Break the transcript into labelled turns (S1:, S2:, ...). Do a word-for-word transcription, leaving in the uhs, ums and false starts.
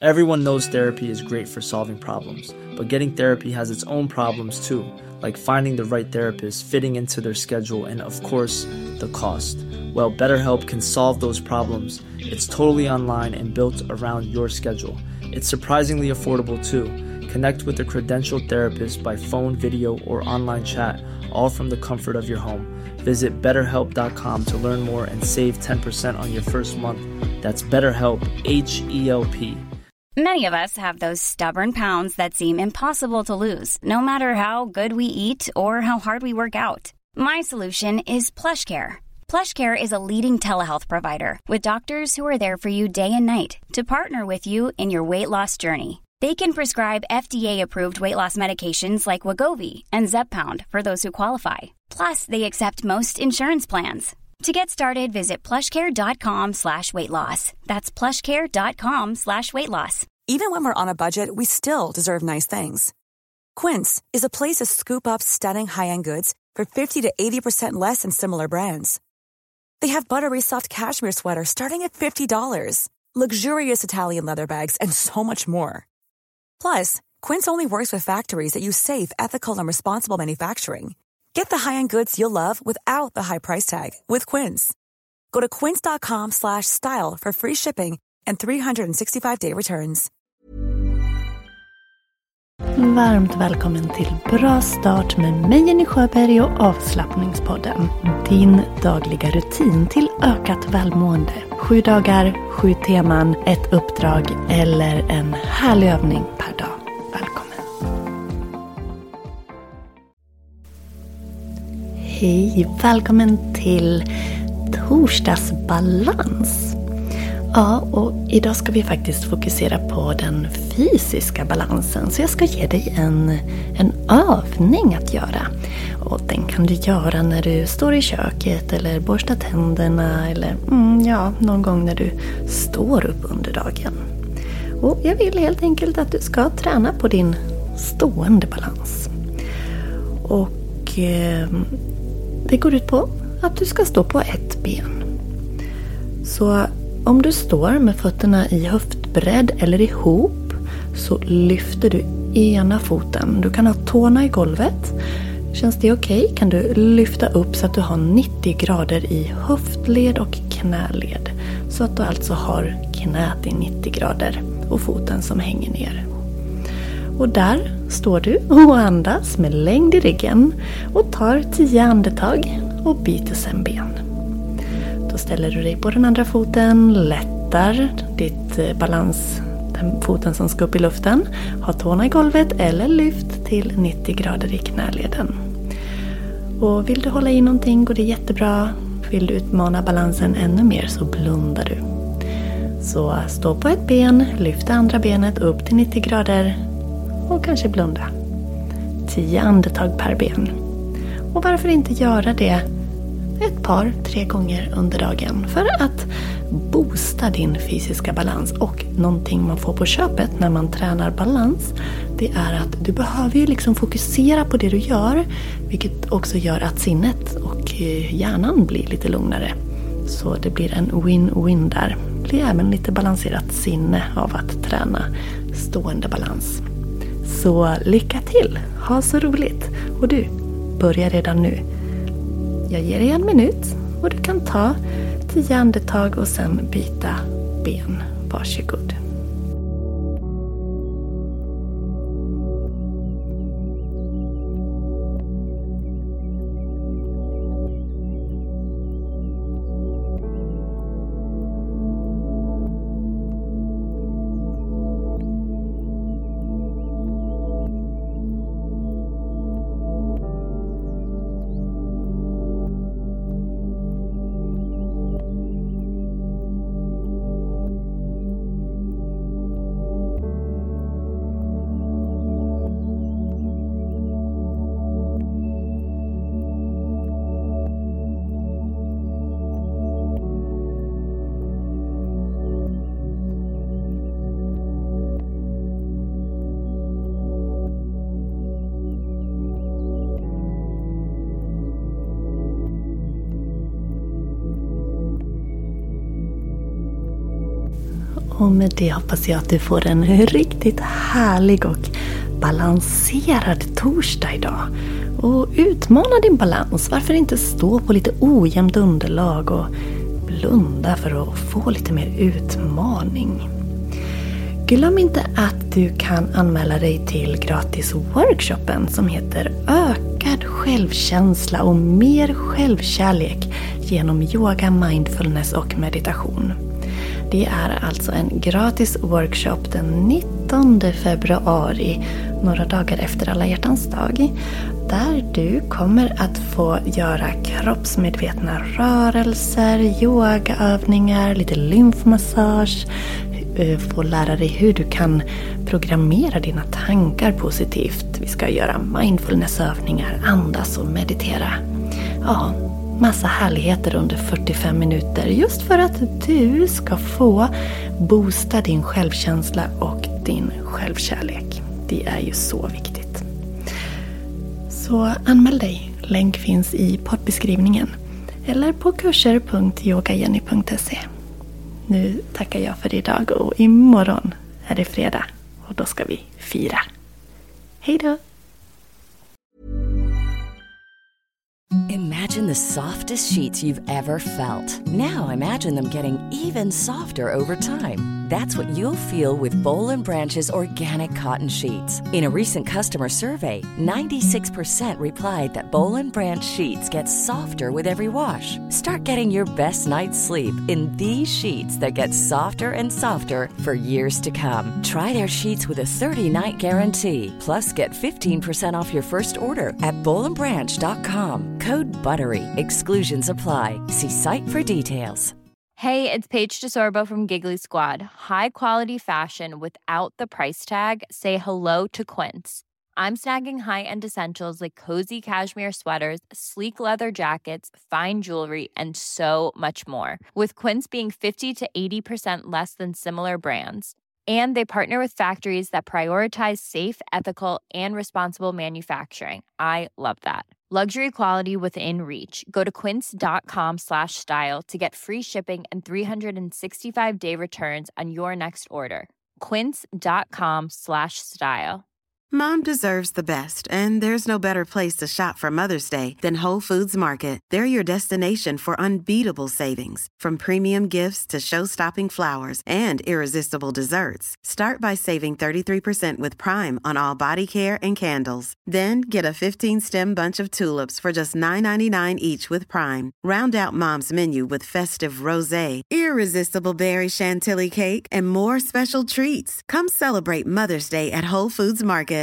S1: Everyone knows therapy is great for solving problems, but getting therapy has its own problems too, like finding the right therapist, fitting into their schedule, and of course, the cost. Well, BetterHelp can solve those problems. It's totally online and built around your schedule. It's surprisingly affordable too. Connect with a credentialed therapist by phone, video, or online chat, all from the comfort of your home. Visit better help dot com to learn more and save ten percent on your first month. That's BetterHelp, H E L P.
S2: Many of us have those stubborn pounds that seem impossible to lose, no matter how good we eat or how hard we work out. My solution is PlushCare. PlushCare is a leading telehealth provider with doctors who are there for you day and night to partner with you in your weight loss journey. They can prescribe F D A-approved weight loss medications like Wegovy and Zepbound for those who qualify. Plus, they accept most insurance plans. To get started, visit plushcare.com slash weight loss. That's plushcare.com slash weight loss.
S3: Even when we're on a budget, we still deserve nice things. Quince is a place to scoop up stunning high-end goods for fifty to eighty percent less than similar brands. They have buttery soft cashmere sweaters starting at fifty dollars, luxurious Italian leather bags, and so much more. Plus, Quince only works with factories that use safe, ethical, and responsible manufacturing. Get the high-end goods you'll love without the high price tag with Quince. Go to quince.com slash style for free shipping and three sixty-five day returns.
S4: Varmt välkommen till Bra start med mig, Jenny Sjöberg, och Avslappningspodden. Din dagliga rutin till ökat välmående. Sju dagar, sju teman, ett uppdrag eller en härlig övning per dag. Välkommen! Hej, välkommen till torsdagsbalans. Ja, och idag ska vi faktiskt fokusera på den fysiska balansen. Så jag ska ge dig en, en övning att göra. Och den kan du göra när du står i köket eller borstar tänderna. Eller mm, ja, någon gång när du står upp under dagen. Och jag vill helt enkelt att du ska träna på din stående balans. Och eh, det går ut på att du ska stå på ett ben. Så om du står med fötterna i höftbredd eller ihop så lyfter du ena foten. Du kan ha tårna i golvet. Känns det okej? Okay? Kan du lyfta upp så att du har nittio grader i höftled och knäled. Så att du alltså har knät i nittio grader och foten som hänger ner. Och där står du och andas med längd i ryggen och tar tio andetag och byter sen ben. Då ställer du dig på den andra foten, lättar ditt balans, den foten som ska upp i luften. Har tårna i golvet eller lyft till nittio grader i knäleden. Och vill du hålla i någonting går det jättebra. Vill du utmana balansen ännu mer så blundar du. Så stå på ett ben, lyft andra benet upp till nittio grader och kanske blunda. tio andetag per ben. Och varför inte göra det ett par, tre gånger under dagen för att boosta din fysiska balans. Och någonting man får på köpet när man tränar balans, det är att du behöver ju liksom fokusera på det du gör, vilket också gör att sinnet och hjärnan blir lite lugnare. Så det blir en win-win där. Det blir även lite balanserat sinne av att träna stående balans. Så lycka till! Ha så roligt! Och du, börja redan nu. Jag ger dig en minut och du kan ta tio andetag och sen byta ben. Varsågod. Och med det hoppas jag att du får en riktigt härlig och balanserad torsdag idag. Och utmana din balans. Varför inte stå på lite ojämnt underlag och blunda för att få lite mer utmaning. Glöm inte att du kan anmäla dig till gratis workshopen som heter Ökad självkänsla och mer självkärlek genom yoga, mindfulness och meditation. Det är alltså en gratis workshop den nittonde februari, några dagar efter Alla hjärtans dag, där du kommer att få göra kroppsmedvetna rörelser, yogaövningar, lite lymfmassage, få lära dig hur du kan programmera dina tankar positivt. Vi ska göra mindfulnessövningar, andas och meditera. Ja, massa härligheter under fyrtiofem minuter just för att du ska få boosta din självkänsla och din självkärlek. Det är ju så viktigt. Så anmäl dig. Länk finns i poddbeskrivningen eller på kurser punkt yogajenny punkt se. Nu tackar jag för idag och imorgon är det fredag och då ska vi fira. Hej då!
S5: Imagine the softest sheets you've ever felt. Now imagine them getting even softer over time. That's what you'll feel with Boll and Branch's organic cotton sheets. In a recent customer survey, ninety-six percent replied that Boll and Branch sheets get softer with every wash. Start getting your best night's sleep in these sheets that get softer and softer for years to come. Try their sheets with a thirty-night guarantee. Plus, get fifteen percent off your first order at boll and branch dot com. Code BUTTERY. Exclusions apply. See site for details.
S6: Hey, it's Paige DeSorbo from Giggly Squad. High quality fashion without the price tag. Say hello to Quince. I'm snagging high-end essentials like cozy cashmere sweaters, sleek leather jackets, fine jewelry, and so much more. With Quince being fifty to eighty percent less than similar brands. And they partner with factories that prioritize safe, ethical, and responsible manufacturing. I love that. Luxury quality within reach. Go to quince.com slash style to get free shipping and three sixty-five day returns on your next order. Quince.com slash style.
S7: Mom deserves the best, and there's no better place to shop for Mother's Day than Whole Foods Market. They're your destination for unbeatable savings, from premium gifts to show-stopping flowers and irresistible desserts. Start by saving thirty-three percent with Prime on all body care and candles. Then get a fifteen-stem bunch of tulips for just nine ninety-nine each with Prime. Round out Mom's menu with festive rosé, irresistible berry chantilly cake, and more special treats. Come celebrate Mother's Day at Whole Foods Market.